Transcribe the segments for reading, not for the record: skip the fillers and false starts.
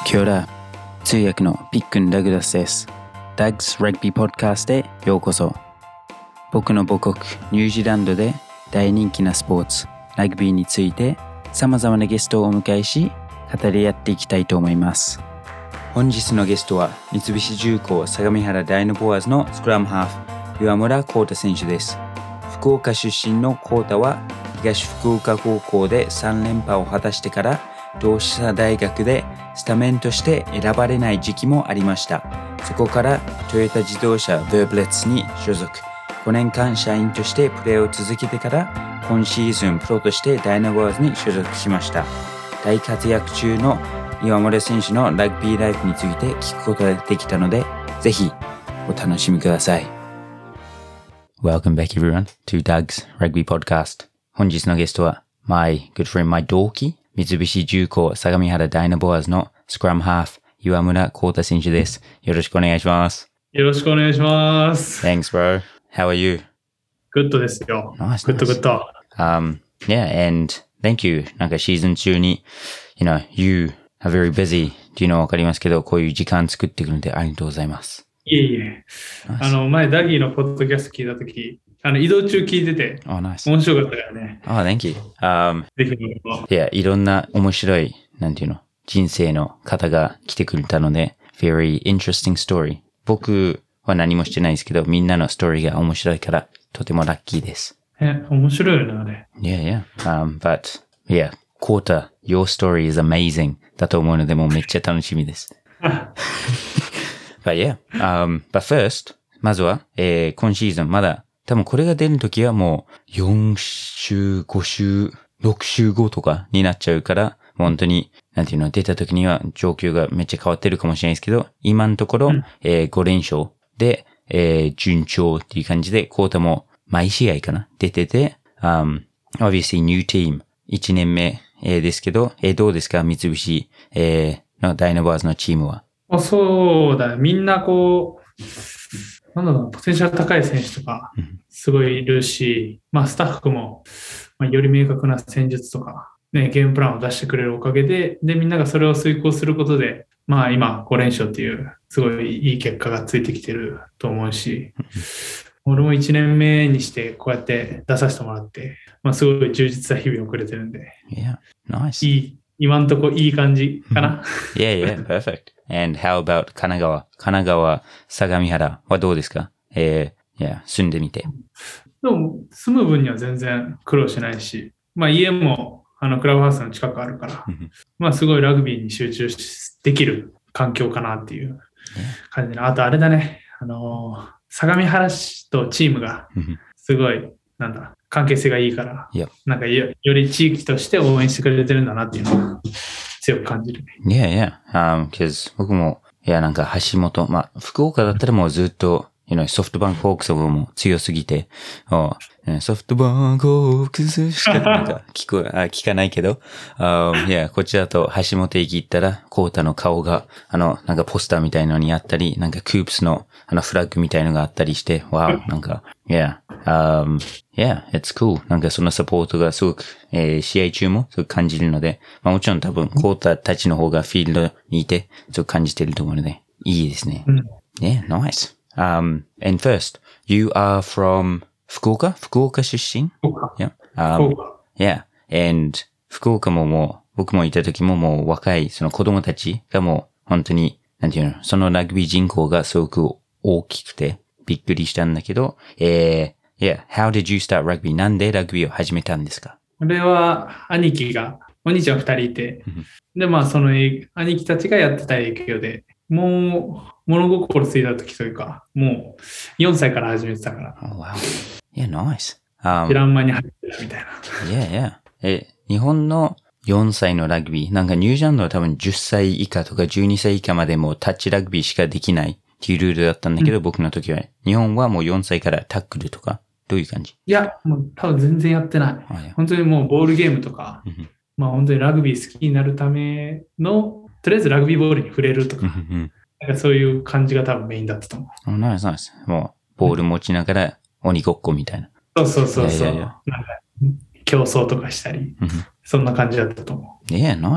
Kia ora、通訳のピックン・ダグラスです。Doug's Rugby Podcast へようこそ。僕の母国ニュージーランドで大人気なスポーツ、ラグビーについて様々なゲストをお迎えし、語り合っていきたいと思います。本日のゲストは三菱重工相模原ダイノボアーズのスクラムハーフ、岩村幸太選手です。福岡出身の幸太は東福岡高校で3連覇を果たしてから同志社大学でスタメンとして選ばれない時期もありました。そこからトヨタ自動車ヴェーブレッツに所属。5年間社員としてプレーを続けてから今シーズンプロとしてダイナボアーズに所属しました。大活躍中の岩村選手のラグビーライフについて聞くことができたので、ぜひお楽しみください。Welcome back everyone to Doug's Rugby Podcast. 本日のゲストは My good friend, my 同期三菱重工相模原ダイナボアーズのスクラムハーフ岩村幸太選手です。よろしくお願いします。 よろしくお願いします。 Thanks, bro. How are you? Good ですよ。 Nice. Good. Yeah, and thank you. なんかシーズン中に、you are very busy っていうのはわかりますけど、こういう時間作ってくるのでありがとうございます。 いえいえ。前ダギーのポッドキャスト聞いたとき、移動中聞いてて、 nice. 面白かったからね。 Thank you. ぜひどうぞ。 いや、いろんな面白い、人生の方が来てくれたので、very interesting story. 僕は何もしてないですけど、みんなのストーリーが面白いから、とてもラッキーです。 面白いよね、あれ。 Yeah. But, yeah, コータ、your story is amazing だと思うので、もうめっちゃ楽しみです。But yeah, but first, まずは、今シーズンまだ、多分これが出るときはもう4週、5週、6週後とかになっちゃうから、本当に、出たときには状況がめっちゃ変わってるかもしれないですけど、今のところ、5連勝で、順調っていう感じで、コータも毎試合かな出てて、obviously new team 1年目、ですけど、どうですか三菱、のダイナボアーズのチームは。 そうだ、みんなポテンシャル高い選手とか、すごいいるし、スタッフも、より明確な戦術とか、ね、ゲームプランを出してくれるおかげで、みんながそれを遂行することで、今5連勝っていう、すごいいい結果がついてきてると思うし、俺も1年目にしてこうやって出させてもらって、すごい充実した日々をくれてるんで。 Yeah, nice. 今んとこいい感じかな。 Yeah, perfect. And how about 神奈川、相模原はどうですか住んでみて。 でも、住む分には全然苦労しないし、家もクラブハウスの近くあるから、すごいラグビーに集中できる環境かなっていう感じで、あとあれだね、相模原市とチームがすごい、関係性がいいから、より地域として応援してくれてるんだなっていうのを強く感じるね。because 僕も、橋本、福岡だったらもうずっと、ソフトバンクホークスも強すぎて、ソフトバンクホークスしか聞かないけど、こっちだと橋本駅行ったら、コータの顔が、ポスターみたいのにあったり、クープスの、フラッグみたいのがあったりして、it's cool. そのサポートがすごく、試合中もすごく感じるので、もちろん多分、コータたちの方がフィールドにいて、すごく感じてると思うので、いいですね。Nice.And first, you are from 福岡出身 Yeah. And 福岡も僕もいた時ももう若いその子供たちがもう本当に、そのラグビー人口がすごく大きくてびっくりしたんだけど、how did you start rugby? なんでラグビーを始めたんですか？ 俺はお兄ちゃん2人いて、で、その兄貴たちがやってた影響で、もう物心ついた時というか、もう4歳から始めてたから。 Oh, wow. Yeah, nice. 知らん間に入ってたみたいな。Yeah. 日本の4歳のラグビー、ニュージーランドは多分10歳以下とか12歳以下までもタッチラグビーしかできないっていうルールだったんだけど、僕の時は。日本はもう4歳からタックルとか、どういう感じ？ いや、もう多分全然やってない。本当にもうボールゲームとか、本当にラグビー好きになるための、とりあえずラグビーボールに触れるとか、そういう感じが多分メインだったと思う。 ナイス。もう、ボール持ちながら鬼ごっこみたいな。 そう。競争とかしたり、そんな感じだったと思う。 Yeah, nice.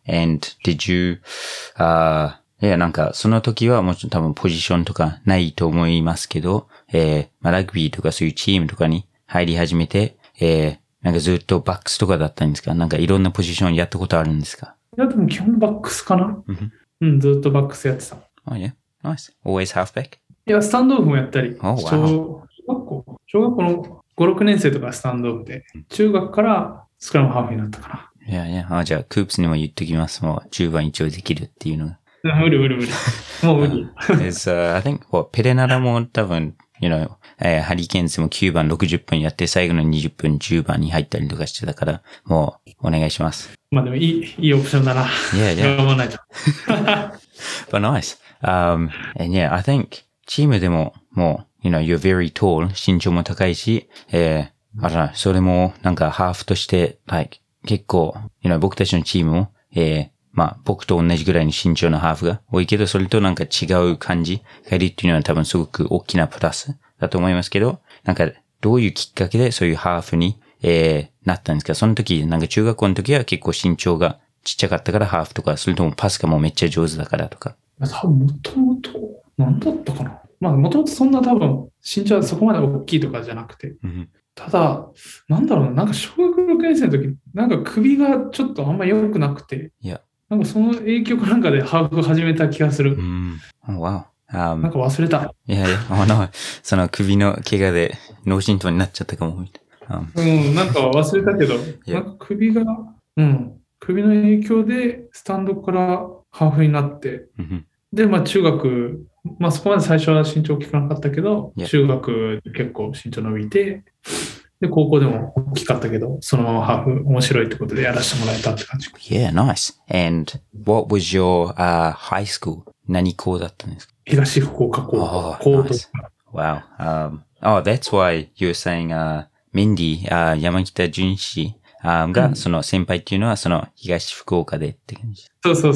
And did you, いや、なんか、その時はもちろん多分ポジションとかないと思いますけど、まあ、ラグビーとかそういうチームとかに入り始めて、なんかずっとバックスとかだったんですか？なんかいろんなポジションやったことあるんですか？ いや、でも基本バックスかな。うん、ずっとバックスやってた。 Oh yeah, nice. Always halfback? いや、スタンドオフもやったり、 Oh, wow. 小学校の5、6年生とかスタンドオフで、中学からスクラムハーフになったかいやいや、じゃあ、クープスにも言っときます。もう、10番一応できるっていうのが。 な。無理。もう無理。 I think, ペレナラも多分、ハリケーンズも9番60分やって、最後の20分10番に入ったりとかしてたから、もう、お願いします。 まあでもいいオプションだな。 Yeah. 頑張らないと。 But nice. And yeah, I think, チームでも、もう、you're very tall. 身長も高いし、それも、なんか、ハーフとして、結構、僕たちのチームも、まあ、僕と同じぐらいの身長のハーフが多いけど、それとなんか違う感じがいるっていうのは多分すごく大きなプラスだと思いますけど、なんか、どういうきっかけでそういうハーフに、なったんですか？その時、なんか中学校の時は結構身長がちっちゃかったからハーフとか、それともパスがもうめっちゃ上手だからとか。 多分、もともと、なんだったかな。まあ、もともとそんな多分、身長はそこまで大きいとかじゃなくて。ただ、なんだろうな、なんか小学6年生の時、なんか首がちょっとあんま良くなくて、なんかその影響かなんかでハーフ始めた気がする。 wow. なんか忘れた。 いや、その首の怪我で脳震盪になっちゃったかも。 なんか忘れたけど、なんか首の影響でスタンドからハーフになって、で、まあ中学、まあそこまで最初は身長大きくなかったけど、中学結構身長伸びて、で、高校でも大きかったけど、そのままハーフ面白いってことでやらせてもらえたって感じ。 Yeah, nice. And what was your high school? 何校だったんですか？ 東福岡高校。 Nice. Wow. That's why you were saying, Mindy, 山北淳史が、その先輩っていうのは、その東福岡でって感じ。 そう。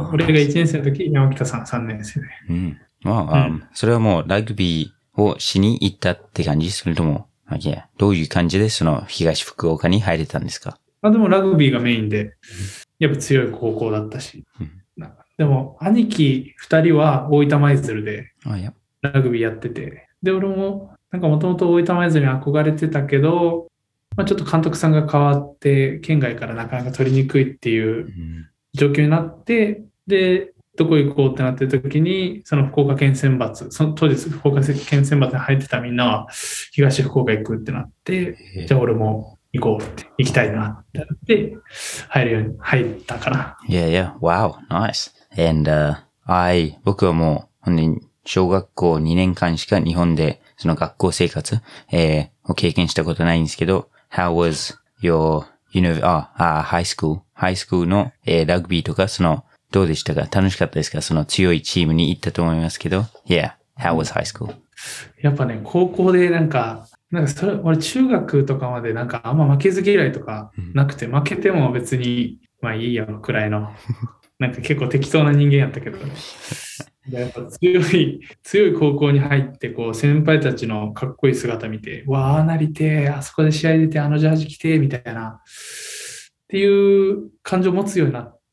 俺が1年生の時、山北さん3年生で。 それはもうラグビーをしに行ったって感じ？それとも、どういう感じでその東福岡に入れたんですか？ でもラグビーがメインで、やっぱ強い高校だったし。でも、兄貴2人は大分舞鶴でラグビーやってて、で、俺も、なんかもともと大分舞鶴に憧れてたけど、まあ、ちょっと監督さんが変わって、県外からなかなか取りにくいっていう状況になって、で、どこ行こうってなってる時に、その福岡県選抜、当時福岡県選抜に入ってたみんなは、東福岡行くってなって、じゃあ俺も行こうって、行きたいなってなって、入ったかな。 Yeah. Wow. Nice. And, 僕はもう、本当に小学校2年間しか日本で、その学校生活、を経験したことないんですけど、How was your, high school の、ラグビーとか、どうでしたか？楽しかったですか？その強いチームに行ったと思いますけど。Yeah. How was high school? やっぱね、高校で俺中学とかまでなんかあんま負けず嫌いとかなくて、負けても別に、まあいいよくらいの、なんか結構適当な人間やったけど、やっぱ強い高校に入って、こう先輩たちのかっこいい姿見て、わあなりてあそこで試合出てあのジャージ着てみたいな、っていう感情を持つようになって、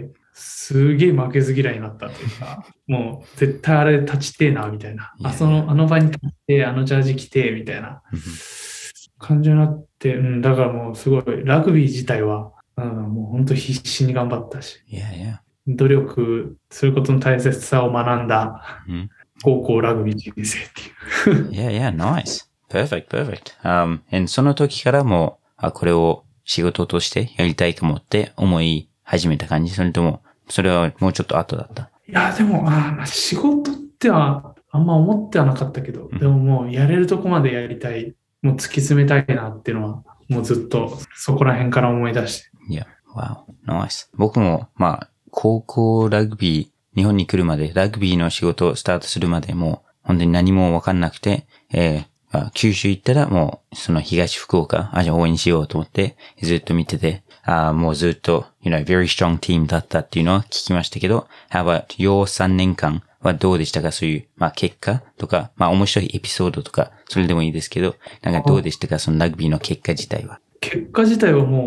すげえ負けず嫌いになったっていうか、もう絶対あれ立ちてえな、みたいな。あの場に立って、あのジャージ着て、みたいな感じになって、だからもうすごい、ラグビー自体は、もう本当必死に頑張ったし、努力することの大切さを学んだ高校ラグビー人生っていう。 Yeah, nice. Perfect. And その時からもこれを仕事としてやりたいかもって思い始めた感じ？それとも、それはもうちょっと後だった？ いや、でも、仕事ってはあんま思ってはなかったけど、でももうやれるとこまでやりたい、もう突き詰めたいなっていうのは、もうずっとそこら辺から思い出して。 Wow, nice. 僕も、高校ラグビー、日本に来るまで、ラグビーの仕事をスタートするまでも、本当に何もわかんなくて、九州行ったらもう、その東福岡、じゃあ応援しようと思って、ずっと見てて、もうずっと、very strong team だったっていうのは聞きましたけど、how about your 3年間はどうでしたか？そういう、結果とか、面白いエピソードとか、それでもいいですけど、なんかどうでしたか？そのラグビーの結果自体は。 結果自体はもう、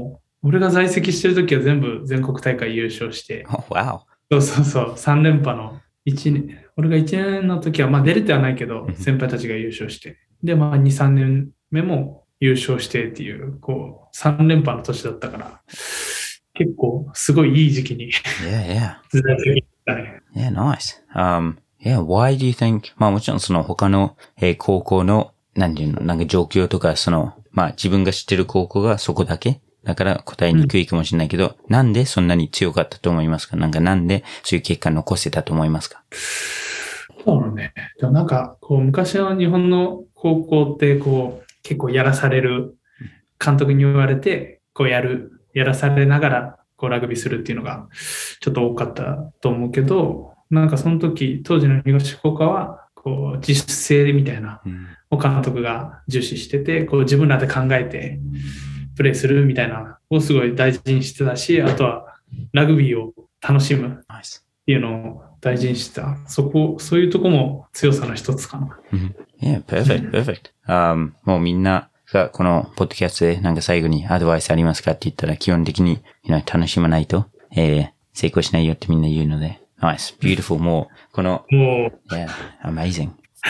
俺が在籍してる時は全部全国大会優勝して、 Oh, wow. そう、3連覇の1年、俺が1年の時は、まあ出れてはないけど、先輩たちが優勝して、で、まあ2、3年目も優勝してっていう、こう、3連覇の年だったから、結構すごいいい時期に Yeah, 在籍したね。 yeah. Yeah, nice. Yeah, why do you think, まあもちろんその他の、高校の、なんていうの、なんか状況とか、その、まあ自分が知ってる高校がそこだけだから答えにくいかもしれないけど、なんでそんなに強かったと思いますか？なんでそういう結果残せたと思いますか？ そうね。でもなんか、こう、昔の日本の高校って、こう、結構やらされる、監督に言われて、こうやらされながら、こうラグビーするっていうのが、ちょっと多かったと思うけど、なんかその時、当時の東福岡は、こう、自主性みたいな、監督が重視してて、こう自分らで考えて、プレーするみたいな、をすごい大事にしてたし、あとは、ラグビーを楽しむ。 Nice. っていうのを大事にしてた。そういうとこも強さの一つかな。 Yeah, perfect. もうみんながこのポッドキャストでなんか最後にアドバイスありますかって言ったら基本的に、楽しまないと、成功しないよってみんな言うので。Nice, beautiful. もう、この、yeah, amazing.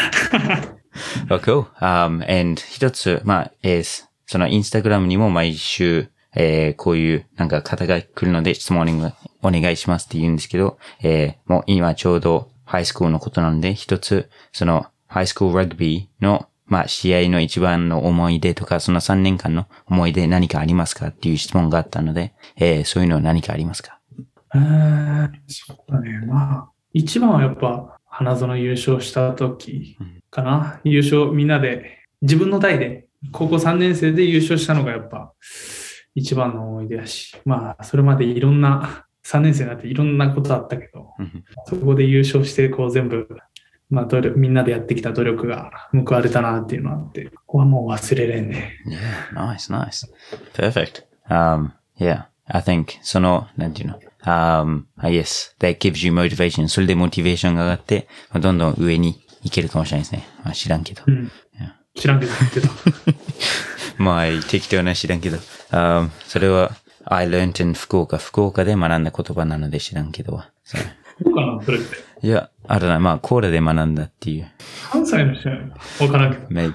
Well, cool. And 一つ、まあ、そのインスタグラムにも毎週、こういうなんか方が来るので質問お願いしますって言うんですけど、もう今ちょうどハイスクールのことなので、一つ、そのハイスクールラグビーの、まあ試合の一番の思い出とか、その3年間の思い出何かありますかっていう質問があったので、そういうの何かありますか？ そうだね。まあ、一番はやっぱ花園優勝した時かな。優勝みんなで、自分の代で、高校3年生で優勝したのがやっぱ一番の思い出やし、まあ、それまでいろんな、3年生になっていろんなことあったけど、そこで優勝して、こう全部、まあ、みんなでやってきた努力が報われたなっていうのがあって、ここはもう忘れれんね。 Yeah, nice. Perfect. Yeah, I think, その、なんていうの、yes, that gives you motivation. それでモチベーションが上がって、どんどん上に行けるかもしれないですね。まあ知らんけど。 知らんけど言ってた。 まあ、適当な知らんけど。それは、I learned in 福岡で学んだ言葉なので知らんけど。 そうかな、それって。 いや、あるな。まあ、コーラで学んだっていう。 関西の人やわからんけど。 Maybe.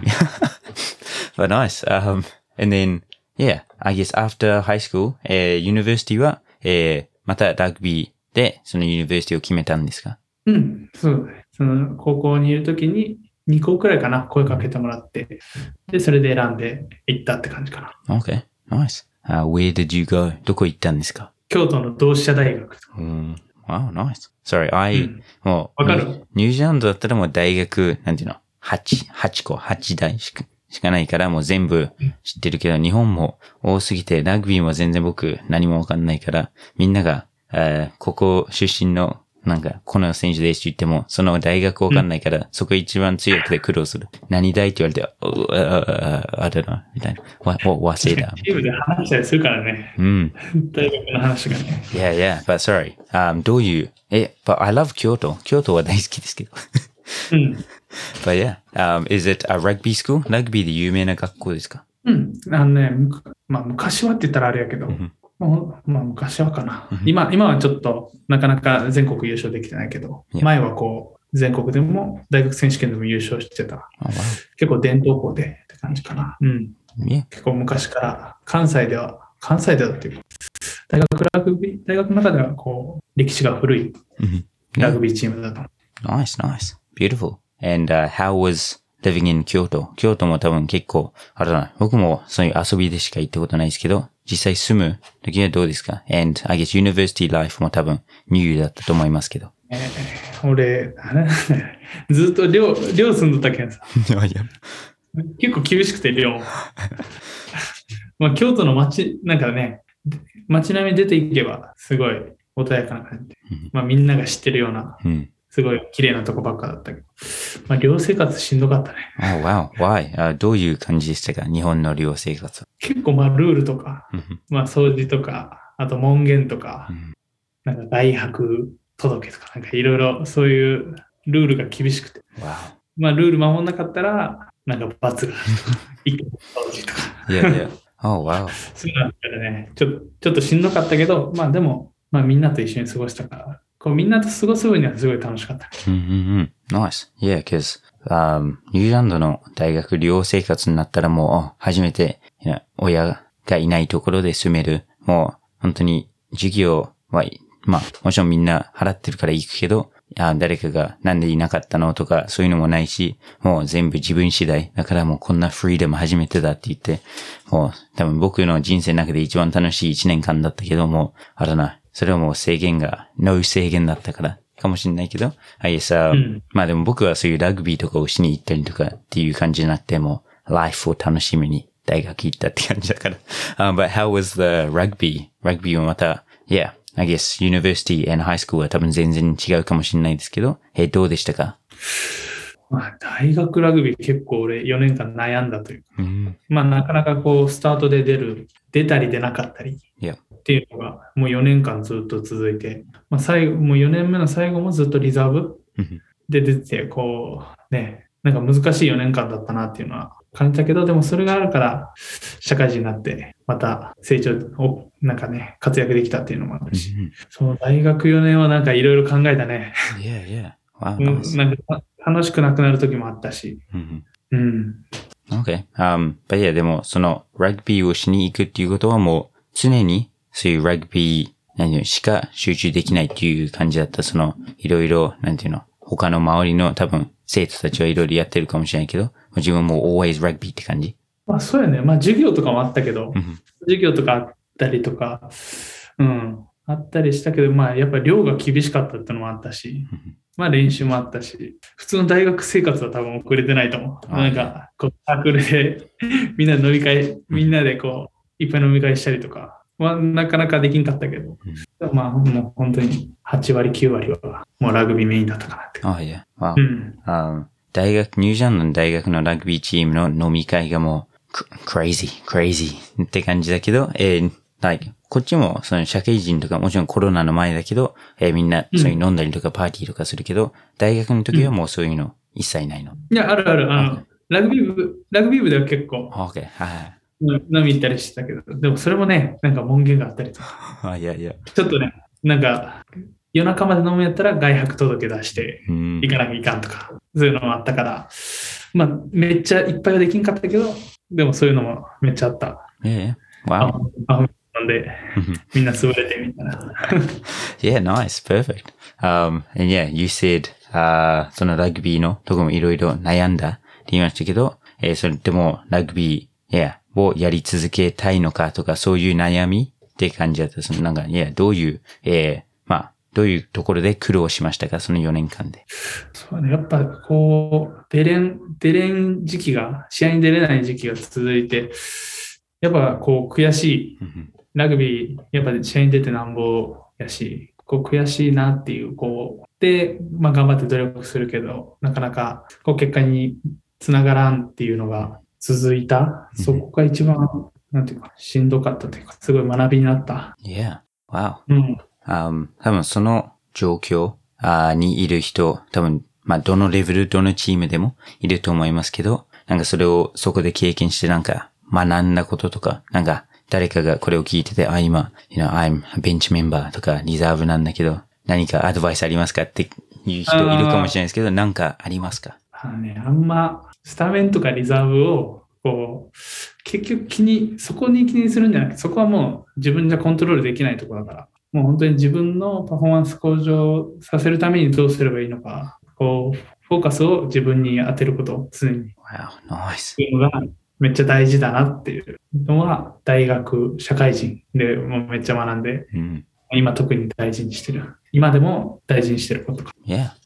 But nice. And then, yeah, I guess after high school, university は、またラグビーで、そのユニバーシティを決めたんですか？ そうだね。その高校にいるときに2校くらいかな、声かけてもらって、で、それで選んで行ったって感じかな。 Okay, nice. Where did you go? どこ行ったんですか？ 京都の同志社大学。 Wow, nice. Sorry, もう、 わかる？ ニュージーランドだったらもう大学、なんていうの、8大しかないからもう全部知ってるけど、日本も多すぎて、ラグビーも全然僕何もわかんないから、みんなが、ここ出身の、なんか、この選手ですって言っても、その大学わかんないから、そこ一番強くて苦労する。何大って言われて、あれだ、みたいな。忘れた。 チームで話したりするからね。大学の話がね。 Yeah, but sorry. どういう、but I love 京都。京都は大好きですけど。But yeah, is it a rugby school? ラグビーで有名な学校ですか？ まあ昔はって言ったらあれやけど、まあ昔はかな。今はちょっとなかなか全国優勝できてないけど、前はこう全国でも大学選手権でも優勝してた。結構伝統校でって感じかな。結構昔から関西ではっていうか、大学の中ではこう歴史が古いラグビーチームだと。 Nice. Beautiful. And how was living in 京都も多分結構、あれだな。僕もそういう遊びでしか行ったことないですけど、実際住む時はどうですか？ And I guess university life も多分ニューだったと思いますけど。 俺、ずっと寮住んどったけんさ。結構厳しくて寮。まあ京都のなんかね、街並み出ていけばすごい穏やかな感じで。まあみんなが知ってるような。すごい綺麗なとこばっかだったけど。まあ、寮生活しんどかったね。 Oh, wow. Why? どういう感じでしたか？日本の寮生活。 結構まあ、ルールとか、まあ、掃除とか、あと門限とか、なんか外泊届とか、なんかいろいろそういうルールが厳しくて。 Wow. まあ、ルール守んなかったら、なんか罰があるとか、掃除とか。 Yeah. Oh, wow. そうなんだよね。ちょっとしんどかったけど、まあでも、まあみんなと一緒に過ごしたから、こうみんなと過ごす分にはすごい楽しかった。 Nice. Yeah, because, ニュージーランドの大学寮生活になったらもう、初めて、親がいないところで住める。もう、本当に、授業は、まあ、もちろんみんな払ってるから行くけど、誰かがなんでいなかったのとか、そういうのもないし、もう全部自分次第。だからもうこんなフリーダム初めてだって言って、もう多分僕の人生の中で一番楽しい1年間だったけども、あれな、それはもう制限が、ノー制限だったから、かもしれないけど、まあでも僕はそういうラグビーとかをしに行ったりとかっていう感じじゃなくても、ライフを楽しみに大学行ったって感じだから。But how was the rugby? ラグビーはまた、I guess university and high school は多分全然違うかもしれないですけど、どうでしたか？ まあ、大学ラグビー結構俺4年間悩んだというか、まあなかなかこうスタートで出たり出なかったりっていうのがもう4年間ずっと続いて、まあ最後、もう4年目の最後もずっとリザーブで出て、こうね、なんか難しい4年間だったなっていうのは感じたけど、でもそれがあるから社会人になってまた成長をなんかね、活躍できたっていうのもあるし、その大学4年はなんかいろいろ考えたね。 Wow, nice. なんか楽しくなくなる時もあったし。 Okay. But yeah, でもそのラグビーをしに行くっていうことはもう常にそういうラグビーしか集中できないっていう感じだった。そのいろいろ、なんていうの、他の周りの多分生徒たちはいろいろやってるかもしれないけど、自分も always rugby って感じ。 まあそうやね。まあ授業とかもあったけど、授業とかあったりとか、あったりしたけど、まあやっぱり量が厳しかったってのもあったし、まあ練習もあったし、普通の大学生活は多分遅れてないと思う。なんか、こう、サークルでみんなで飲み会、みんなでこう、いっぱい飲み会したりとか、まあなかなかできんかったけど、まあもう本当に8割、9割はもうラグビーメインだったかなって。 Wow. ニュージーランドの大学のラグビーチームの飲み会がもう、crazy って感じだけど、こっちもその社会人とかもちろんコロナの前だけど、みんなそういう飲んだりとかパーティーとかするけど、大学の時はもうそういうの一切ないの。 いや、あるある。ラグビー部では結構、 Okay. 飲み行ったりしたけど、でもそれもね、なんか門限があったりとか。 いや。 ちょっとね、なんか、夜中まで飲むやったら外泊届出して行かなきゃいかんとか、そういうのもあったから、まあ、めっちゃいっぱいはできんかったけど、でもそういうのもめっちゃあった。 Wow. なんで、みんな潰れてみたいな。 Nice, perfect. And you said, そのラグビーのとこもいろいろ悩んだって言いましたけど、それでもラグビー、をやり続けたいのかとか、そういう悩みって感じだった。そのなんか、どういう、どういうところで苦労しましたか、その4年間で。 そうね、やっぱこう、出れん時期が、試合に出れない時期が続いて、やっぱこう悔しい。ラグビー、やっぱ試合に出てなんぼやし、こう悔しいなっていう、こう、で、まあ頑張って努力するけど、なかなかこう結果につながらんっていうのが続いた。そこが一番、なんていうか、しんどかったというか、すごい学びになった。 Wow. 多分その状況にいる人、多分、まあどのレベル、どのチームでもいると思いますけど、なんかそれをそこで経験してなんか学んだこととか、なんか誰かがこれを聞いてて、今、I'm a bench member とかリザーブなんだけど、何かアドバイスありますかっていう人いるかもしれないですけど、なんかありますか？ あんま、スタメンとかリザーブを、こう、結局そこに気にするんじゃなくて、そこはもう自分じゃコントロールできないところだから、もう本当に自分のパフォーマンス向上させるためにどうすればいいのか、こう、フォーカスを自分に当てることを常に。 Nice. いうのがめっちゃ大事だなっていうのは、大学、社会人でもうめっちゃ学んで、今特に大事にしてる。今でも大事にしてることか。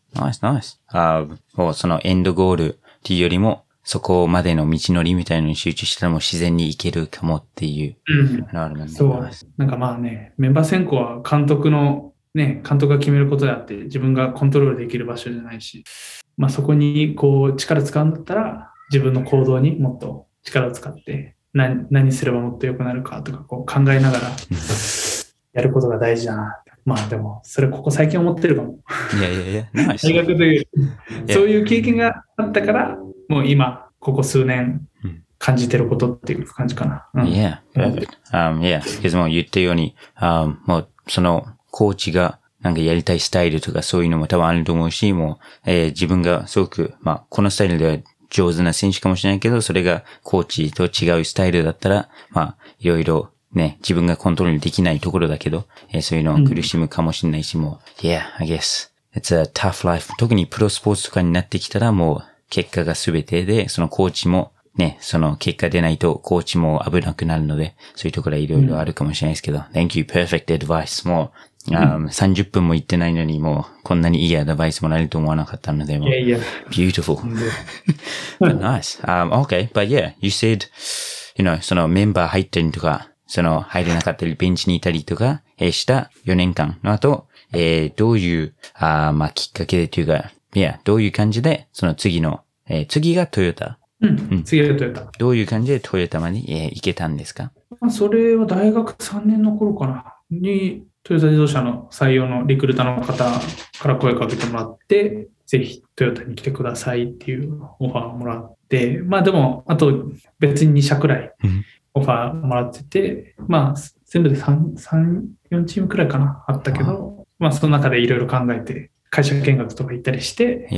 Nice. もうそのエンドゴールっていうよりも、そこまでの道のりみたいなのに集中したらもう自然にいけるかもっていう。 そう。なんかまあね、メンバー選考は監督が決めることであって、自分がコントロールできる場所じゃないし、まあそこにこう力使うんだったら、自分の行動にもっと力を使って、何すればもっと良くなるかとかこう考えながらやることが大事だな。まあでも、それここ最近思ってるかも。 Nice. 大学でそういう経験があったから、もう今、ここ数年、 感じてることっていう感じかな。 Yeah, perfect. Yeah, because もう言ったように、もうそのコーチがなんかやりたいスタイルとかそういうのも多分あると思うし、もう、自分がすごく、このスタイルでは上手な選手かもしれないけど、それがコーチと違うスタイルだったら、いろいろね、自分がコントロールできないところだけど、そういうのを苦しむかもしれないし、もう、Yeah, I guess it's a tough life. 特にプロスポーツとかになってきたらもう結果が全てで、そのコーチもね、その結果出ないとコーチも危なくなるので、そういうところはいろいろあるかもしれないですけど、Thank you, perfect advice. もう、30分も言ってないのにもうこんなにいいアドバイスもらえると思わなかったので、もう、beautiful. But nice. Okay, but yeah, you said, そのメンバー入ったりとか、その入れなかったり、ベンチにいたりとか、した4年間の後、どういう、きっかけでというか、どういう感じで、その次がトヨタ。 次はトヨタ。 どういう感じでトヨタまで、行けたんですか？ それは大学3年の頃かな。に、トヨタ自動車の採用のリクルーターの方から声かけてもらって、ぜひトヨタに来てくださいっていうオファーをもらって、でも、あと別に2社くらいオファーもらってて、全部で3、4チームくらいかな、あったけど、その中でいろいろ考えて、会社見学とか行ったりして、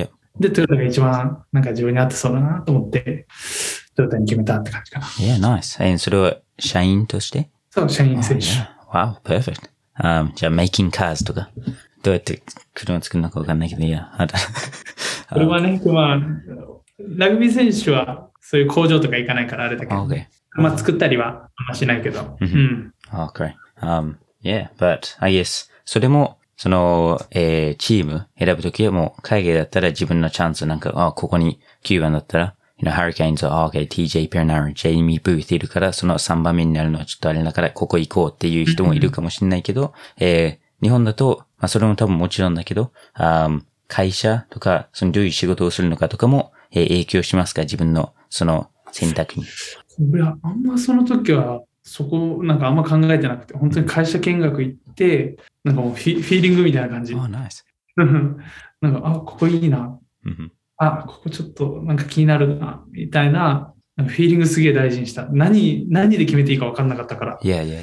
で、トヨタが一番なんか自分に合ってそうだなと思って、トヨタに決めたって感じかな。 Yeah, nice. それは社員として？ そう、社員選手。 Wow, perfect. じゃあ、making cars とか、どうやって車作るのかわかんないけど、 これはね、ラグビー選手はそういう工場とか行かないからあれだけど、作ったりはしないけど。 Okay. Yeah, but I guess それも、その、チーム選ぶときはもう海外だったら自分のチャンスなんか、ここに9番だったら、Hurricanes は、okay, TJ Pernara、Jamie Booth いるから、その3番目になるのはちょっとあれだから、ここ行こうっていう人もいるかもしれないけど、日本だと、それも多分もちろんだけど、会社とか、そのどういう仕事をするのかとかも、影響しますか？自分のその選択に。 いや、あんまその時は、そこ、なんかあんま考えてなくて、本当に会社見学行って、なんかもうフィーリングみたいな感じ。 nice. なんか、ここいいな。ここちょっとなんか気になるな、みたいな、フィーリングすげえ大事にした。何で決めていいか分かんなかったから。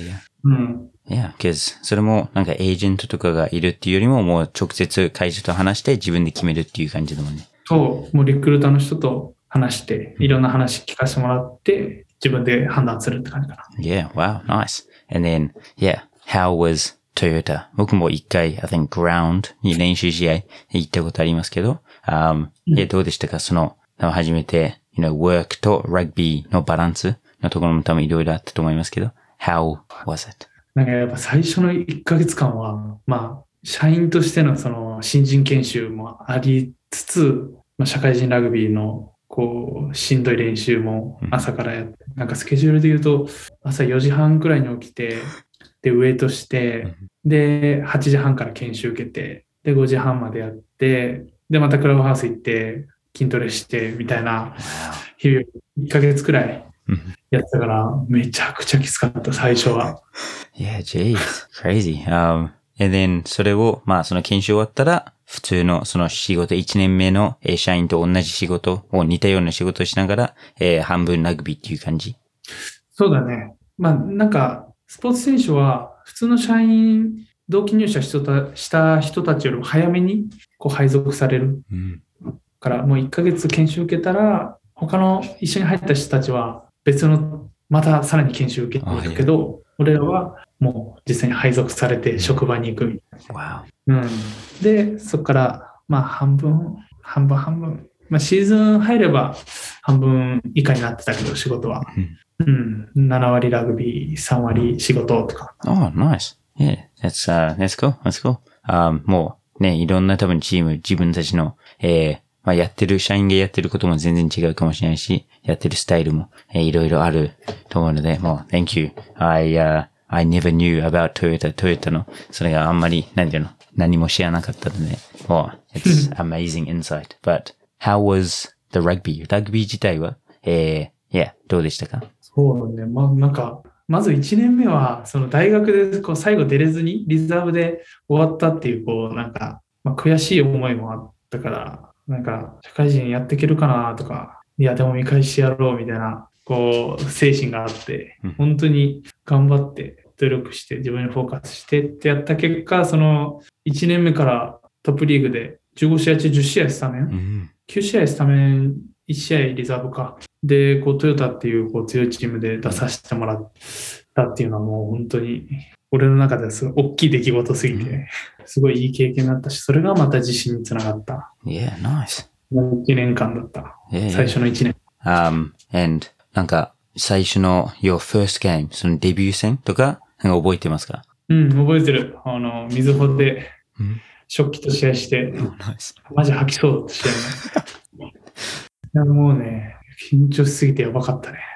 because それもなんかエージェントとかがいるっていうよりももう直接会社と話して自分で決めるっていう感じだもんね。 そう、もうリクルーターの人と話して、いろんな話聞かせてもらって、自分で判断するって感じかな。 Yeah, wow, nice. And then, how was Toyota? 僕も一回、I think ground に練習試合行ったことありますけど、どうでしたか？その、初めて、work と rugby のバランスのところも多分いろいろあったと思いますけど、how was it? なんかやっぱ最初の1ヶ月間は、社員としてのその新人研修もありつつ、社会人ラグビーのしんどい練習も朝からやって、なんかスケジュールで言うと、朝4時半くらいに起きて、で、ウェイトして、で、8時半から研修受けて、で、5時半までやって、で、またクラブハウス行って、筋トレして、みたいな、日々1ヶ月くらいやってたから、めちゃくちゃきつかった、最初は。 Yeah, geez, crazy. And then それを、その研修終わったら、普通のその仕事、1年目の社員と同じ仕事を似たような仕事をしながら、半分ラグビーっていう感じ？ そうだね。なんか、スポーツ選手は、普通の社員、同期入社した人たちよりも早めに配属される。から、もう1ヶ月研修受けたら、他の一緒に入った人たちは別の、またさらに研修受けていくけど、俺らはもう実際に配属されて職場に行くみたいな。で、そこから、半分。シーズン入れば半分以下になってたけど、仕事は。7割ラグビー、3割仕事とか。 Oh, nice. Yeah, that's cool. もうね、いろんな多分チーム、自分たちの、やってる、社員がやってることも全然違うかもしれないし、やってるスタイルも、いろいろあると思うので、もう、thank you. I never knew about Toyota の、それがあんまり、何も知らなかったので、もう、it's amazing insight. But, how was the rugby? ラグビー自体は、どうでしたか？ そうね、なんか、まず1年目は、その大学で最後出れずに、リザーブで終わったっていう、なんか、悔しい思いもあったから、なんか、社会人やっていけるかなとか、いや、でも見返してやろうみたいなこう、精神があって、本当に頑張って努力して自分にフォーカスしてってやった結果、その1年目からトップリーグで15試合中10試合スタメン、9試合スタメン、1試合リザーブか。で、こうトヨタっていうこう強いチームで出させてもらったっていうのはもう本当に俺の中ではすごい大きい出来事すぎて、すごいいい経験だったし、それがまた自信につながった。 Yeah, nice. 1年間だった。最初の1年。 And なんか最初の your first game そのデビュー戦とか覚えてますか？ うん、覚えてる。みずほで食器と試合して、マジ吐きそうだった試合ね。もうね、緊張しすぎてやばかったね。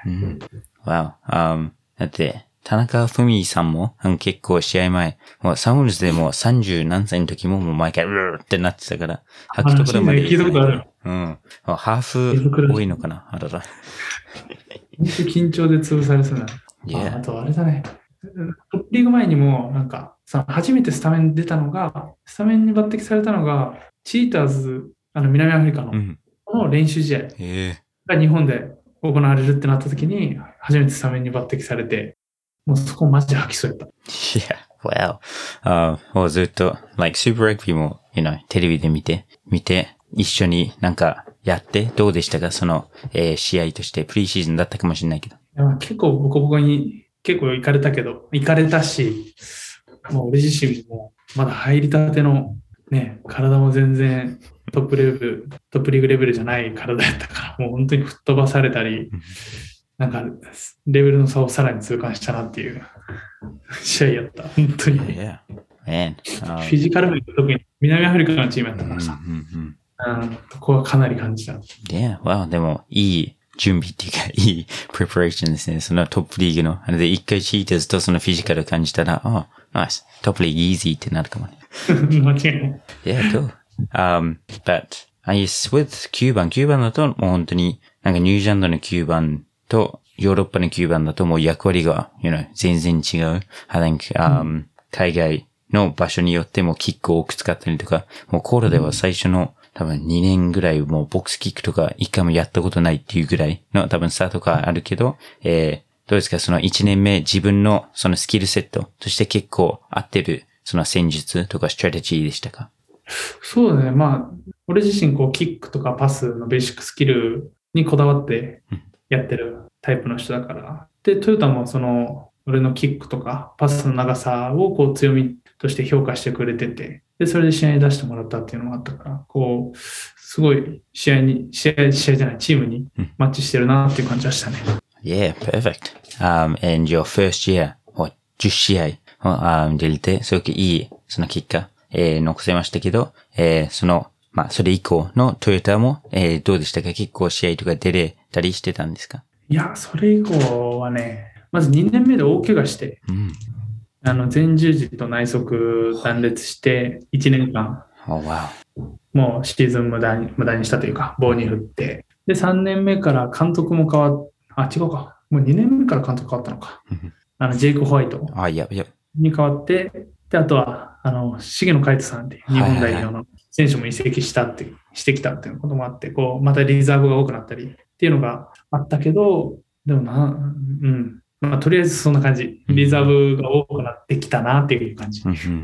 Wow. だって田中文さんも結構試合前、もうサンウルズでも30何歳の時ももう毎回うーってなってたから、吐くところまで。 聞いたことある。 ハーフ多いのかな、あらら。 本当緊張で潰されそうな。あとあれだね。トップリーグ前にも、なんか、初めてスタメン出たのが、スタメンに抜擢されたのが、チーターズ、南アフリカの、の練習試合が日本で行われるってなった時に、初めてスタメンに抜擢されて、もうそこマジ吐きそうやった。 Yeah, wow. もうずっと、like Super Rugby も、テレビで見て、一緒になんかやって、どうでしたかその、試合として、プリーシーズンだったかもしれないけど。 結構ボコボコに、結構行かれたし、もう俺自身もまだ入りたてのね、体も全然トップリーグレベルじゃない体やったから、もう本当に吹っ飛ばされたり、なんかレベルの差をさらに痛感したなっていう試合やった。本当に。 Yeah. フィジカル面特に南アフリカのチームやったからさ、ここはかなり感じた。 Yeah, wow. でもいい準備っていうか、いいプレパレーションですね。そのトップリーグの。あれで一回チーターズとそのフィジカル感じたら、ナイス。トップリーグイージーってなるかもね。 間違いない。 Yeah, cool. But, I guess with 9番だともう本当に、なんかニュージーランドの9番とヨーロッパの9番だともう役割が、全然違う。I think, 海外の場所によってもキックを多く使ったりとか、もうコールでは最初の多分2年ぐらいもうボックスキックとか一回もやったことないっていうぐらいの多分スタートがあるけど、どうですかその1年目自分のそのスキルセットとして結構合ってるその戦術とかストラテジーでしたか？ そうだね。まあ、俺自身こうキックとかパスのベーシックスキルにこだわってやってるタイプの人だから。で、トヨタもその俺のキックとかパスの長さをこう強みとして評価してくれてて、で、それで試合に出してもらったっていうのもあったから、こう、すごい試合じゃない、チームにマッチしてるなっていう感じはしたね。 Yeah, perfect. And your first year, 10試合出れて、すごくいい、その結果、残せましたけど、それ以降のトヨタも、どうでしたか？結構試合とか出れたりしてたんですか？ いや、それ以降はね、まず2年目で大怪我して、前十字と内側断裂して1年間、もうシーズン無駄にしたというか、棒に振って、で、3年目から監督も変わっ、違うか。もう2年目から監督変わったのか。ジェイク・ホワイトに変わって、で、あとは、重野海人さんっていう日本代表の選手も移籍してきたっていうこともあって、こう、またリザーブが多くなったりっていうのがあったけど、でもまあ、とりあえずそんな感じ。リザーブが多くなってきたなっていう感じ。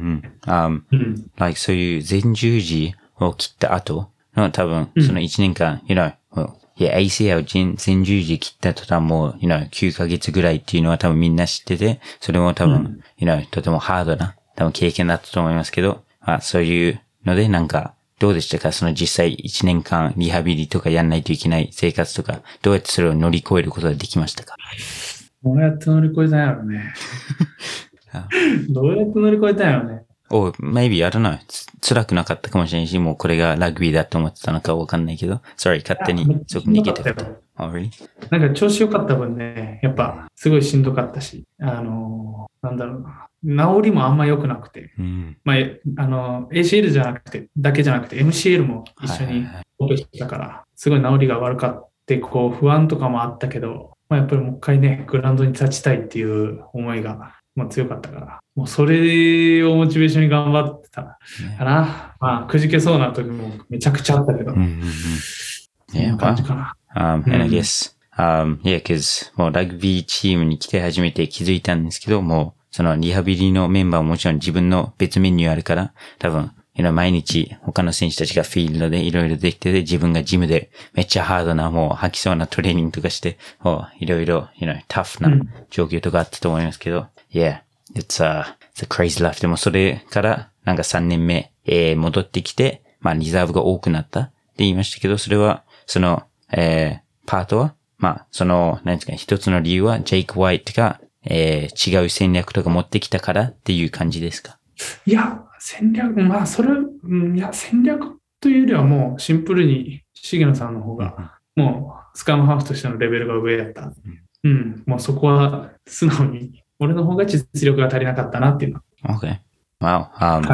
like そういう前十字を切った後の多分、その1年間、ACL 前十字切った途端もう、9ヶ月ぐらいっていうのは多分みんな知ってて、それも多分、とてもハードな、多分経験だったと思いますけど、そういうのでなんか、どうでしたか？その実際1年間リハビリとかやんないといけない生活とか、どうやってそれを乗り越えることができましたか？ どうやって乗り越えたんやろね。どうやって乗り越えたんやろね。 maybe, I don't know. 辛くなかったかもしれないし、もうこれがラグビーだと思ってたのかわかんないけど。Sorry, 勝手にすごく逃げてた。really? なんか調子良かった分ね、やっぱすごいしんどかったし、なんだろうな。治りもあんま良くなくて。まあ、ACL だけじゃなくて MCL も一緒にオペしてたから、すごい治りが悪かって、こう不安とかもあったけど、まあ、やっぱりもう一回ね、グラウンドに立ちたいっていう思いが、強かったから、もうそれをモチベーションに頑張ってたかな。まあ、くじけそうな時もめちゃくちゃあったけど。 Yeah, 感じかな。 and I guess, Yeah, cause もうラグビーチームに来て初めて気づいたんですけど、もうそのリハビリのメンバーももちろん自分の別メニューあるから、多分、毎日他の選手たちがフィールドでいろいろできてて、自分がジムでめっちゃハードな、もう吐きそうなトレーニングとかして、いろいろ、タフな状況とかあったと思いますけど、Yeah, it's a crazy life. でもそれからなんか3年目、戻ってきて、まあリザーブが多くなったって言いましたけど、それは、その、パートは、まあ、その、何ですかね、一つの理由は、ジェイク・ホワイトが、違う戦略とか持ってきたからっていう感じですか？ いや、戦略、まあ、戦略というよりはもうシンプルに、重野さんの方が、もう、スカムハーフとしてのレベルが上だった。もうそこは素直に、俺の方が実力が足りなかったなっていうの。 Okay. Wow.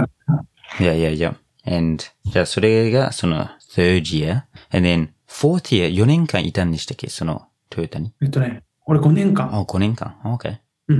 Yeah. And, じゃあそれがその third year, and then fourth year, 4年間いたんでしたっけ、そのトヨタに？ 俺5年間。 5年間。Okay.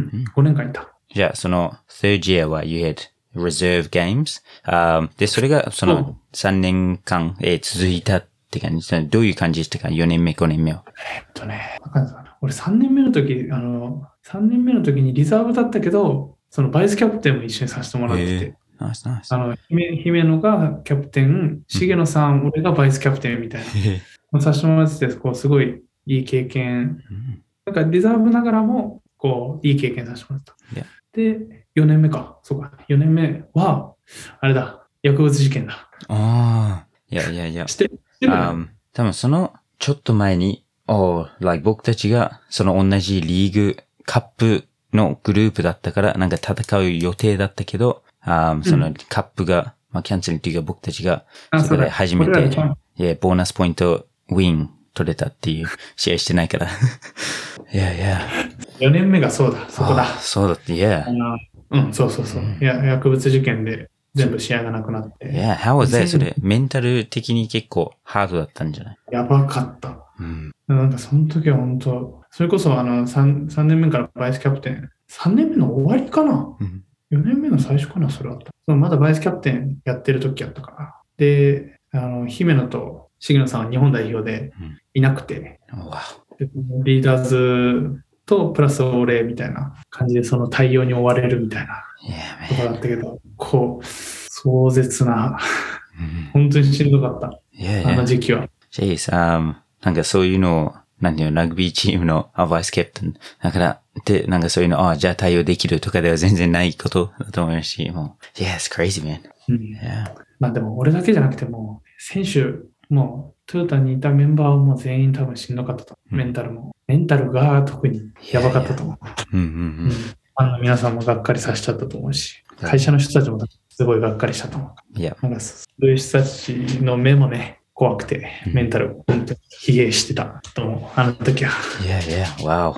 5年間いた。 じゃあその third year は you had reserve games. で、それがその3年間、続いたって感じ。どういう感じでしたか？ 4 年目、5年目は。 俺3年目の時にリザーブだったけど、そのバイスキャプテンも一緒にさせてもらってて。 ナイス。 姫野がキャプテン、重野さん、俺がバイスキャプテンみたいな。させてもらってて、こう、すごいいい経験。なんかリザーブながらも、こう、いい経験させてもらった。で、4年目か。そうか。4年目は、あれだ。薬物事件だ。 いや。 知ってる？ 多分その、ちょっと前に、僕たちが、その同じリーグ、カップのグループだったから、なんか戦う予定だったけど、そのカップが、まあ、キャンセルっていうか僕たちが、そこで初めて、ボーナスポイント、ウィン取れたっていう試合してないから。いや。 4年目がそうだ、そこだ。 そうだって、 そう。薬物事件で全部試合がなくなって。 how was that? それ、メンタル的に結構ハードだったんじゃない？ やばかった。なんかその時は本当、それこそ3年目からバイスキャプテン、3年目の終わりかな？ 4 年目の最初かな、それは。まだバイスキャプテンやってる時やったから。で、姫野と重野さんは日本代表でいなくて、リーダーズとプラス俺みたいな感じでその対応に追われるみたいなところだったけど、こう、壮絶な、本当にしんどかった。あの時期は。 なんかそういうのを、なんていうの、ラグビーチームのバイスキャプテン。だから、で、なんかそういうの、じゃあ対応できるとかでは全然ないことだと思いますし、もう、it's crazy, man. まあでも俺だけじゃなくても、選手、もうトヨタにいたメンバーはもう全員多分しんどかったと。メンタルが特にやばかったと思う。皆さんもがっかりさせちゃったと思うし、会社の人たちもすごいがっかりしたと思う。なんかそういう人たちの目もね、怖くて、メンタル本当に疲弊してたと思う。あの時は。 Wow.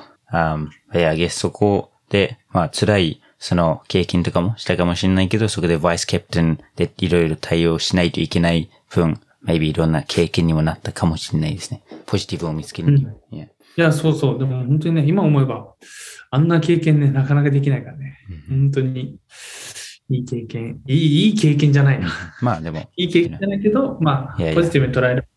I guess そこで、まあ辛いその経験とかもしたかもしれないけど、そこでバイスキャプテンでいろいろ対応しないといけない分、maybe いろんな経験にもなったかもしれないですね。ポジティブを見つけるには。いや、そう。でも本当にね、今思えば、あんな経験ね、なかなかできないからね。本当に、いい経験。いい経験じゃないな。 まあでも。 いい経験じゃないけど、まあ、ポジティブに捉える。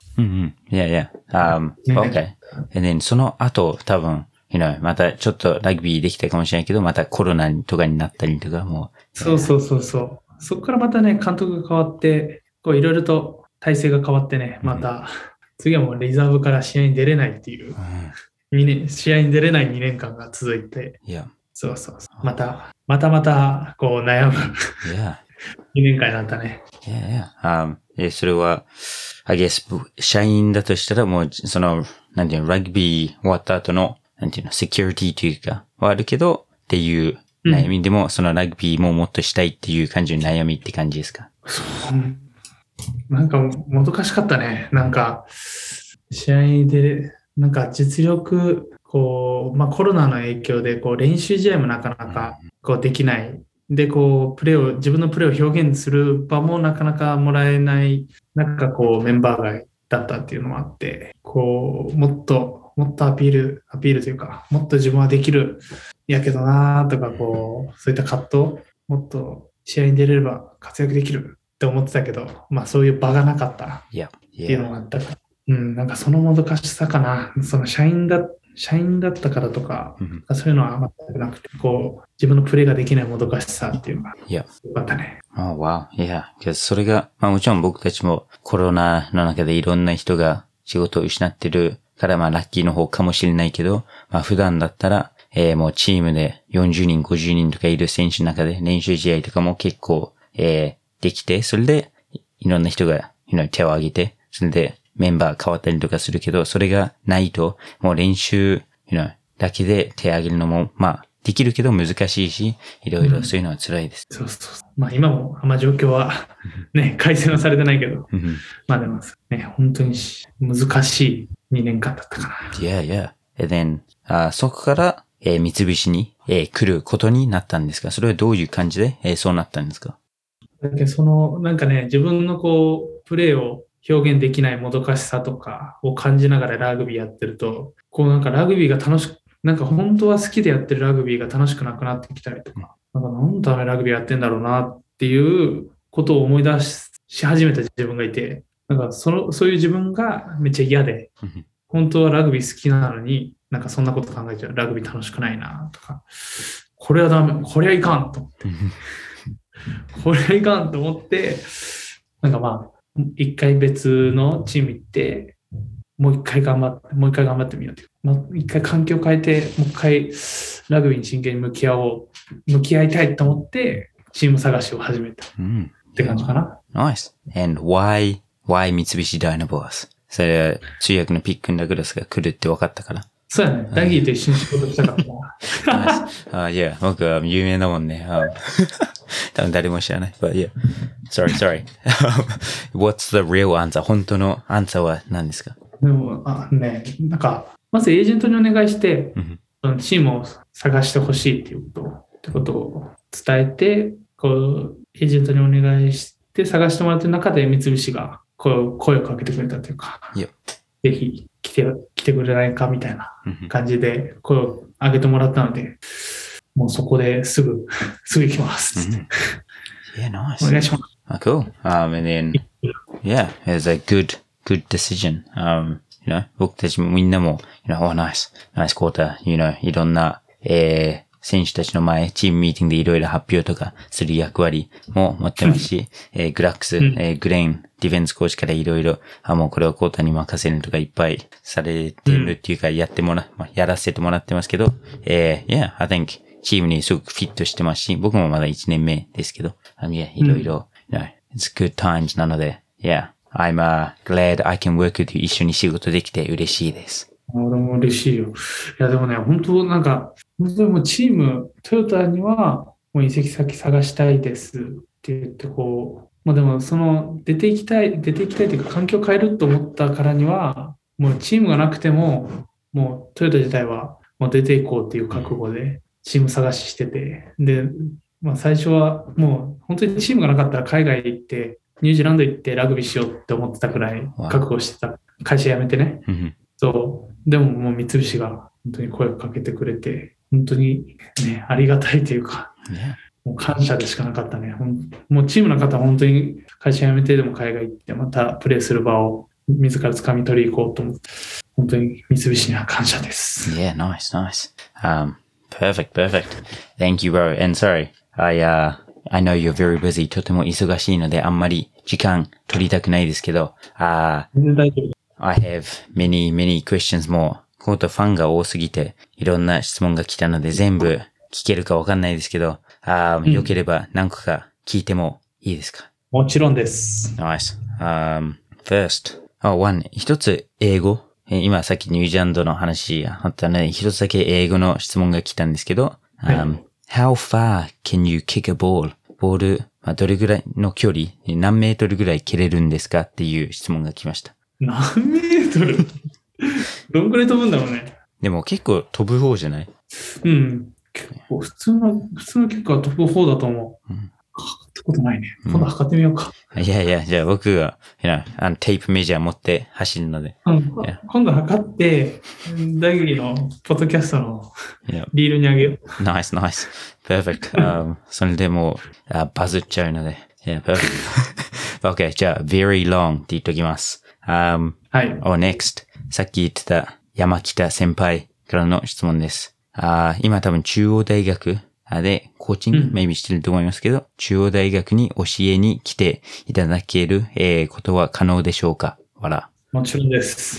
Okay. And then その後、多分、またちょっとラグビーできたかもしれないけど、またコロナとかになったりとかも。 そう。そこからまたね、監督が変わって、こういろいろと体制が変わってね、また、次はもうリザーブから試合に出れないっていう、試合に出れない2年間が続いて、そう。また、こう悩む2年間になったね。 それは、I guess、社員だとしたらもう、その、なんていうの、ラグビー終わった後の、なんていうの、セキュリティというか、はあるけど、っていう悩みでも、そのラグビーももっとしたいっていう感じの悩みって感じですか？ なんか、もどかしかったね。なんか、試合で、なんか実力、こう、まあコロナの影響で、こう練習試合もなかなかこうできない。で、こう、自分のプレーを表現する場もなかなかもらえない、なんかこうメンバー外だったっていうのもあって、こう、もっとアピールというか、もっと自分はできる、やけどなーとか、こう、そういった葛藤、もっと試合に出れれば活躍できるって思ってたけど、まあそういう場がなかったっていうのがあったから。 なんかそのもどかしさかな。その社員だったからとか、そういうのは全くなくて、こう、自分のプレイができないもどかしさっていうのが、 Yeah. よかったね。 Oh, wow. Yeah. それが、もちろん僕たちもコロナの中でいろんな人が仕事を失ってるから、ラッキーの方かもしれないけど、普段だったら、もうチームで40人、50人とかいる選手の中で練習試合とかも結構、できて、それでいろんな人が、手を挙げて、それでメンバー変わったりとかするけど、それがないと、もう練習、だけで手を挙げるのも、できるけど難しいし、いろいろそういうのは辛いです。 そう。今もあんま状況はね、改善はされてないけど、でもね、本当に難しい2年間だったかな。 Yeah. And then, そこから、三菱に、来ることになったんですか？それはどういう感じで、そうなったんですか？ だけどなんかね、自分のこう、プレーを表現できないもどかしさとかを感じながらラグビーやってると、こうなんかラグビーが楽しく、なんか本当は好きでやってるラグビーが楽しくなくなってきたりとか、なんか何のためラグビーやってんだろうなっていうことを思い出し始めた自分がいて、なんかそういう自分がめっちゃ嫌で、本当はラグビー好きなのに、なんかそんなこと考えちゃう。ラグビー楽しくないなとか、これはダメ、これはいかんと思って。これはいかんと思って、なんか一回別のチーム行って、もう一回頑張ってみようっていう。一回環境変えて、もう一回ラグビーに真剣に向き合いたいと思って、チーム探しを始めた。って感じかな。 Nice. And why 三菱ダイナボアス？それは通訳のピックン・ダグラスが来るって分かったから。 そうやね。ダギーと一緒に仕事したからな。 いや、僕は有名だもんね。多分誰も知らない。But yeah. Sorry. What's the real answer? 本当のアンサーは何ですか？ でも、なんか、まずエージェントにお願いして、チームを探してほしいってことを伝えて、こう、エージェントにお願いして探してもらってる中で三菱が声をかけてくれたというか、ぜひ来てくれないかみたいな感じで声を上げてもらったので、もうそこですぐ行きます。 Yeah, nice. お願いします。 Cool. And then, yeah, it's a good decision.僕たちもみんなも、oh, nice quarter, いろんな、選手たちの前、チームミーティングでいろいろ発表とかする役割も持ってますし、グラックス、グレイン、ディフェンスコーチからいろいろ、もうこれはコータに任せるとかいっぱいされてるっていうか、やらせてもらってますけど、yeah, I think チームにすごくフィットしてますし、僕もまだ1年目ですけど、yeah, いろいろ、it's good times なので、yeah, I'm glad I can work with you 一緒に仕事できて嬉しいです。 俺も嬉しいよ。いや、でもね、本当もうチーム、トヨタにはもう移籍先探したいですって言って、こう、でも出ていきたいというか、環境を変えると思ったからには、もうチームがなくても、もうトヨタ自体はもう出ていこうっていう覚悟でチーム探ししてて、で、最初はもう本当にチームがなかったら海外行って、ニュージーランド行ってラグビーしようって思ってたくらい覚悟してた。会社辞めてね。そう。でももう三菱が本当に声をかけてくれて、本当にね、ありがたいというか、もう感謝でしかなかったね。もうチームの方は本当に会社辞めてでも海外行ってまたプレーする場を自ら掴み取り行こうと思って、本当に三菱には感謝です。 Yeah, nice. Perfect. Thank you, bro. And sorry, I know you're very busy. とても忙しいのであんまり時間取りたくないですけど、 全然大丈夫。 I have many questions more. ファンが多すぎていろんな質問が来たので全部聞けるかわかんないですけど、よければ何個か聞いてもいいですか？ もちろんです。 Nice. First. One. 一つ英語。今さっきニュージーランドの話あったので、一つだけ英語の質問が来たんですけど、How far can you kick a ball? ボール、どれぐらいの距離、何メートルぐらい蹴れるんですかっていう質問が来ました。 何メートルどんくらい飛ぶんだろうね。 でも結構飛ぶ方じゃない？ うん。結構普通の結構飛ぶ方だと思う。測ったことないね。今度測ってみようか。 いや、じゃあ僕が、テープメジャー持って走るので。 今度測って、ダギーのポッドキャストのリールにあげよう。 Nice. Perfect. それでもうバズっちゃうので。Yeah, perfect. Okay, じゃあ、very long って言っときます。 はい。 next. さっき言ってた山北先輩からの質問です。今多分中央大学でコーチング、maybe してると思いますけど、中央大学に教えに来ていただける、ことは可能でしょうか？わら。 もちろんです。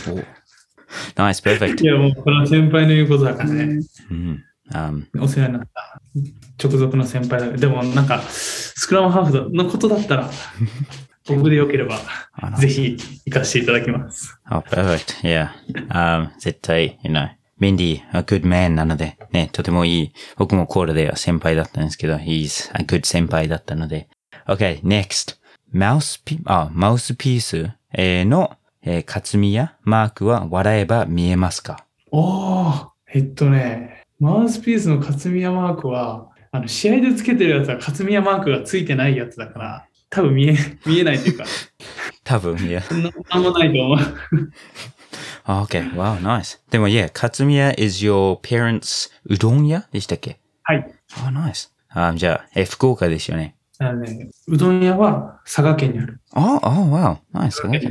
Nice, perfect. いや、もうこれは先輩の言うことだからね。お世話になった直属の先輩だ。でもなんか、スクラムハーフのことだったら、僕でよければ、ぜひ行かせていただきます。 perfect. Yeah. 絶対、メンディ、a good man なので、ね、とてもいい。僕もコールでは先輩だったんですけど、he's a good 先輩だったので。Okay, next. マウスピースの、活みやマークは笑えば見えますか？ マウスピースの勝宮マークは、試合でつけてるやつは勝宮マークがついてないやつだから、多分見えないというか。 多分、いや。 なんもないと思う。 Okay, wow, nice. でも、勝宮 is your parents うどん屋でしたっけ？ はい。 nice. じゃあ、福岡ですよね。 うどん屋は佐賀県にある。 wow, nice. 佐賀県。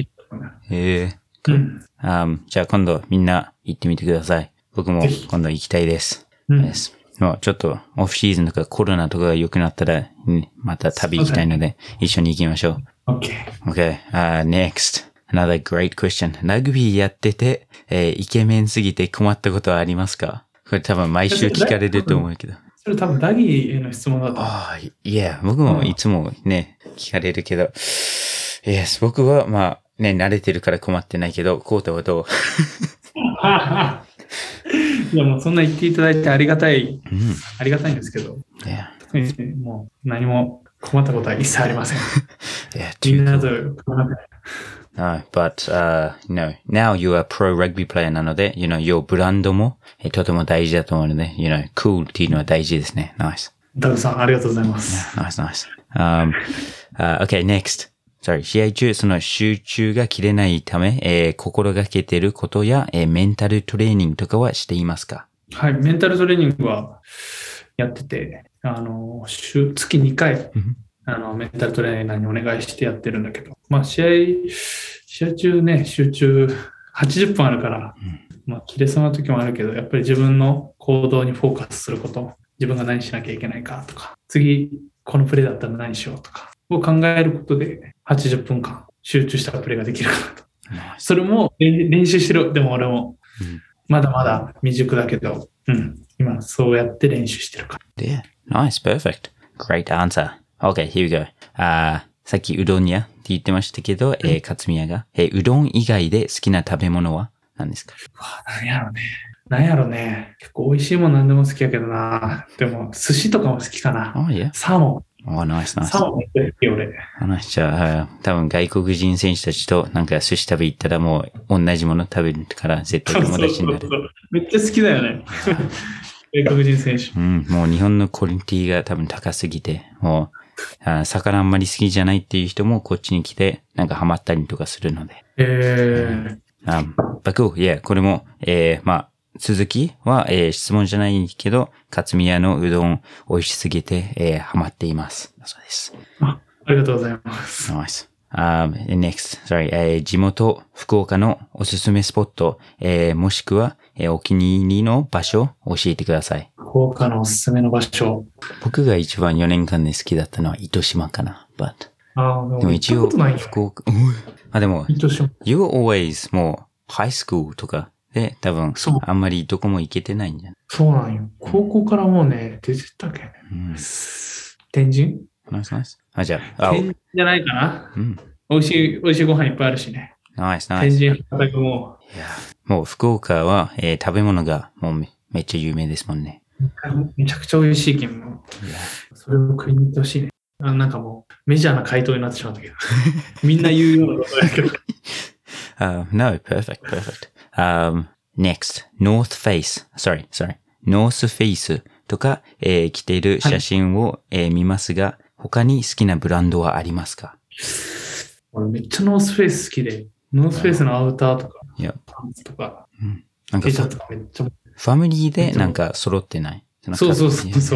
じゃあ今度みんな行ってみてください。僕も今度行きたいです。もうちょっとオフシーズンとかコロナとかが良くなったら、また旅行きたいので一緒に行きましょう。Okay. Next. Another great question. ラグビーやってて、イケメンすぎて困ったことはありますか？これ多分毎週聞かれると思うけど。 それ多分ラギーへの質問だと。 僕もいつもね、聞かれるけど。Yes, 僕はまあね、慣れてるから困ってないけど、コータはどう？ いやもうそんな言っていただいてありがたいんですけど。もう何も困ったことは一切ありません。みんなと困らない。 but, now you are pro rugby player なので、your ブランドもとても大事だと思うので、cool っていうのは大事ですね。Nice. ダグさん、ありがとうございます。 Nice. Okay, next. Sorry, 試合中、その集中が切れないため、心がけていることや、メンタルトレーニングとかはしていますか？ はい、メンタルトレーニングはやってて、月2回、メンタルトレーナーにお願いしてやってるんだけど、まあ試合中ね、集中80分あるから、まあ切れそうな時もあるけど、やっぱり自分の行動にフォーカスすること、自分が何しなきゃいけないかとか、次このプレーだったら何しようとかを考えることで80分間集中したプレーができるかなと。それも練習してる。でも俺もまだまだ未熟だけど、今そうやって練習してるから。 Yeah, nice, perfect. Great answer. Okay, here we go. さっきうどん屋って言ってましたけど、勝宮が、うどん以外で好きな食べ物は何ですか？ なんやろね。結構美味しいもん何でも好きやけどな。でも、寿司とかも好きかな。サーモン。 nice. サーモンめっちゃ好きよ、俺。 じゃあ、多分外国人選手たちとなんか寿司食べ行ったらもう同じもの食べるから絶対友達になる。 そうめっちゃ好きだよね。外国人選手。 もう日本のクオリティが多分高すぎて、もう、魚あんまり好きじゃないっていう人もこっちに来てなんかハマったりとかするので。これも、まあ、続きは、質問じゃないけど、勝宮のうどん美味しすぎて、ハマっています。そうです。 ありがとうございます。 Nice. Next, 地元福岡のおすすめスポット、もしくは、お気に入りの場所教えてください。 福岡のおすすめの場所。 僕が一番4年間で好きだったのは糸島かな。 でも一応、 福岡、でも、You always もう、ハイスクールとかで多分、あんまりどこも行けてないんじゃない？ そうなんよ。高校からもうね、出てたっけ、天神？ ナイス。じゃあ、 天神じゃないかな。美味しいご飯いっぱいあるしね。 ナイス。 天神博多も。 もう福岡は、食べ物がもうめっちゃ有名ですもんね。 めちゃくちゃ美味しいけん。それを食いに行ってほしいね。なんかもうメジャーな回答になってしまったけど。みんな言うようなことだけど。 No, perfect. Next, North Face とか、着ている写真を、見ますが、他に好きなブランドはありますか？ 俺めっちゃノースフェイス好きで、ノースフェイスのアウターとか、パンツとか、 なんか T シャツとかめっちゃ。 ファミリーでなんか揃ってない？ そう。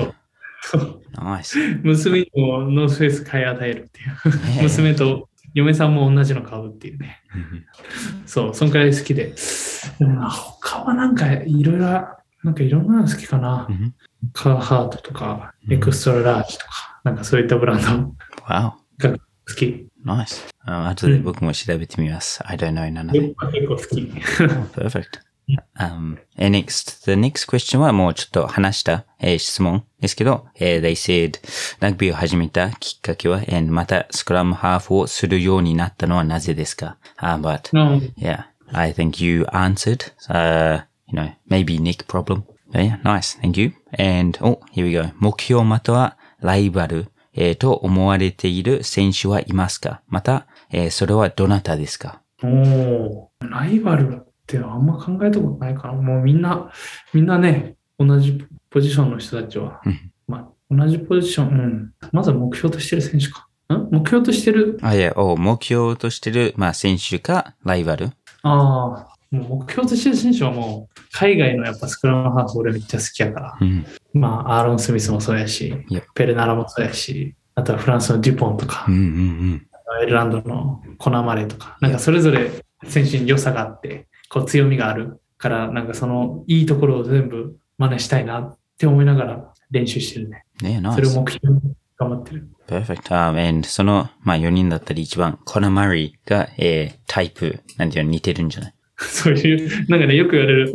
ナイス。 娘にもノースフェイス買い与えるっていう。娘と嫁さんも同じの買うっていうね。そう、そんくらい好きで。でもな、他はなんかいろいろ、なんかいろんなの好きかな。カーハートとか、エクストララージとか、なんかそういったブランド Wow. が好き。 Nice. 後で僕も調べてみます。I don't know none of it. 結構好き。 Perfect. And next, the next question はもうちょっと話した、質問ですけど、they said ラグビーを始めたきっかけは、またスクラムハーフをするようになったのはなぜですか？ But yeah, I think you answered, maybe Nick problem. But yeah, nice. Thank you. And, here we go. 目標またはライバル、と思われている選手はいますか？また、それはどなたですか？ ライバルってあんま考えたことないかな。もうみんなね、同じポジションの人たちは、同じポジション、まずは目標としてる選手か。目標としてる。 目標としてる、選手か、ライバル。 もう目標としてる選手はもう、海外のやっぱスクラムハーフ俺めっちゃ好きやから。アーロン・スミスもそうやし、ペレナラもそうやし、あとはフランスのデュポンとか、アイルランドのコナマレとか、なんかそれぞれ選手に良さがあって、こう強みがあるから、なんかそのいいところを全部真似したいなって思いながら練習してるね。それを目標に頑張ってる。 Perfect. And その、4人だったり一番、コナマリが、タイプ、なんていうの似てるんじゃない？ そういう、なんかね、よく言われる。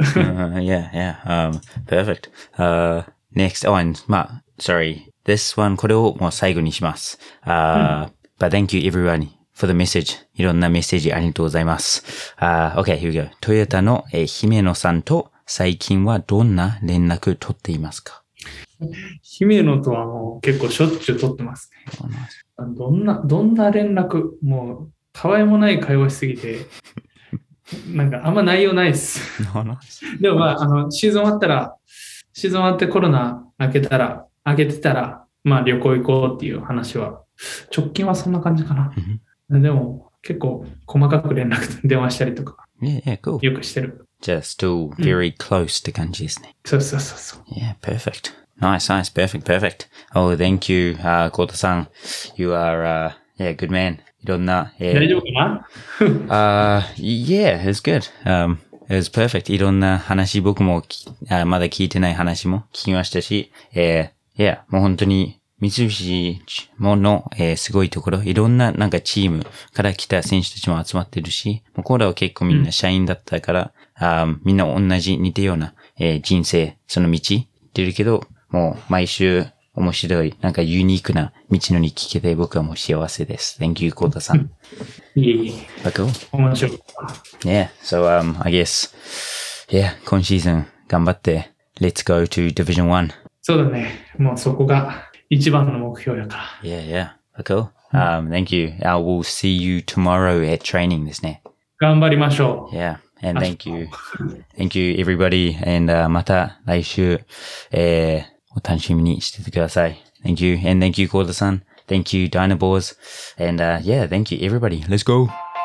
Perfect. Next on, sorry. This one, これをもう最後にします。But thank you everyone for the message. いろんなメッセージありがとうございます。Okay, here we go. トヨタの、姫野さんと最近はどんな連絡取っていますか？ 姫野とはもう結構しょっちゅう取ってますね。どんな連絡、もう、たわいもない会話しすぎて、なんかあんま内容ないです。でもシーズン終わってコロナ明けてたら、旅行行こうっていう話は、直近はそんな感じかな。でも結構細かく連絡電話したりとか、 cool. よくしてる。 じゃあ still very close って感じですね。 そう。 Yeah, perfect. Nice. Perfect. Oh, thank you, コータさん。You are, good man. いろんな、 大丈夫かな Yeah, it's good. It was perfect. いろんな話、僕もまだ聞いてない話も聞きましたし、もう本当に三菱の、すごいところ、いろんななんかチームから来た選手たちも集まってるし、もうコーラは結構みんな社員だったから、みんな同じ似たような、人生、その道行ってるけど、もう毎週面白い、なんかユニークな道のり聞けて僕はもう幸せです。Thank you, コータさん。 いえ。 Cool. 面白い。 Yeah, so, I guess,今シーズン頑張って、Let's go to Division 1. そうだね。もうそこが一番の目標やから。 Yeah. Cool. Thank you. I will see you tomorrow at training ですね。 頑張りましょう。 Yeah. And thank you. Thank you, everybody. And, また来週、お楽しみにしててください。Thank you. And thank you, コーダさん。Thank you, Dynabors. And, thank you, everybody. Let's go.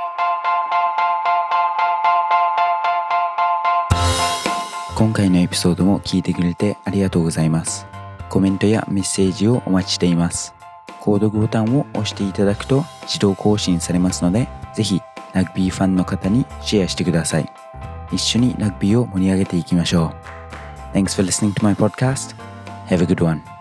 今回のエピソードも聞いてくれてありがとうございます。コメントやメッセージをお待ちしています。購読ボタンを押していただくと自動更新されますので、ぜひラグビーファンの方にシェアしてください。一緒にラグビーを盛り上げていきましょう。Thanks for listening to my podcast. Have a good one.